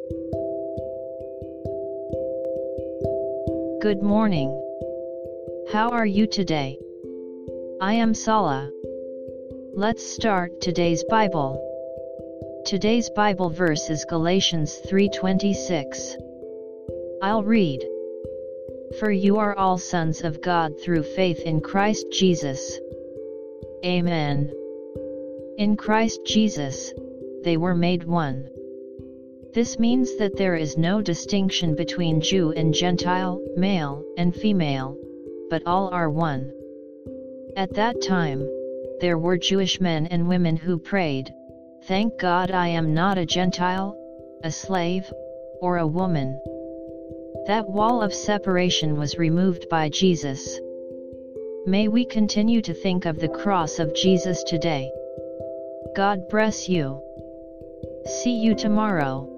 Good morning. How are you today? I am Sala. Let's start today's Bible. Today's Bible verse is Galatians 3:26. I'll read. For you are all sons of God through faith in Christ Jesus. Amen. In Christ Jesus, they were made one. This means that there is no distinction between Jew and Gentile, male and female, but all are one. At that time, there were Jewish men and women who prayed, "Thank God I am not a Gentile, a slave, or a woman." That wall of separation was removed by Jesus. May we continue to think of the cross of Jesus today. God bless you. See you tomorrow.